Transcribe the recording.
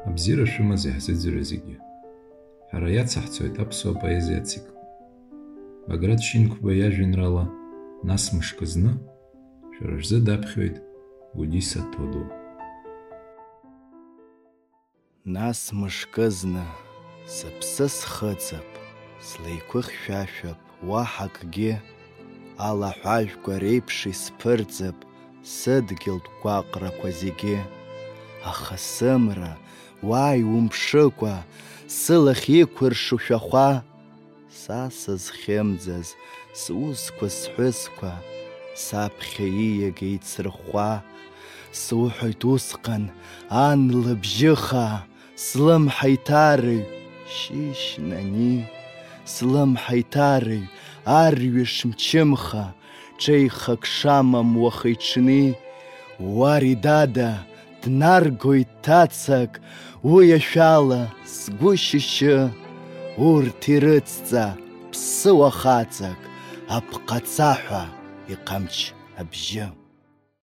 Абзира шәымаз иаҳзыӡырҩы зегьы. Ҳара иацаҳҵоит аԥсуа поезиа ацикл. Баграт Шинқәба иажәеинраала нас мышкы зны шәара шәзы даԥхьоит Гәдиса Ҭоду. Нас мышкы зны сыԥсы схыҵып, слеиқәыхьшәашәап, уаҳа акгьы, алаҳәажәқәа реиԥш исԥырҵып сыдгьылтә гәаҟрақәа зегьы. Аха сымра, уа иумԥшыкәа, сылахь иқәыршу шәахәа, са сызхьымӡаз сусқәа сҳәысқәа, саԥхьа ииагеит сырхәа. Суҳәоит усҟан, ан лыбжьыха, слымҳа иҭарыҩ, шьышьнани, слымҳа иҭарыҩ, арҩаш мчымха, ҽеихак шамам уаха-иҽни. Уари дада, днаргоит ҭацак, уи ашәала сгәы шьышьы. Урҭ ирыцҵа ԥсыуа хаҵак, апҟацаҳәа иҟамч абжьы.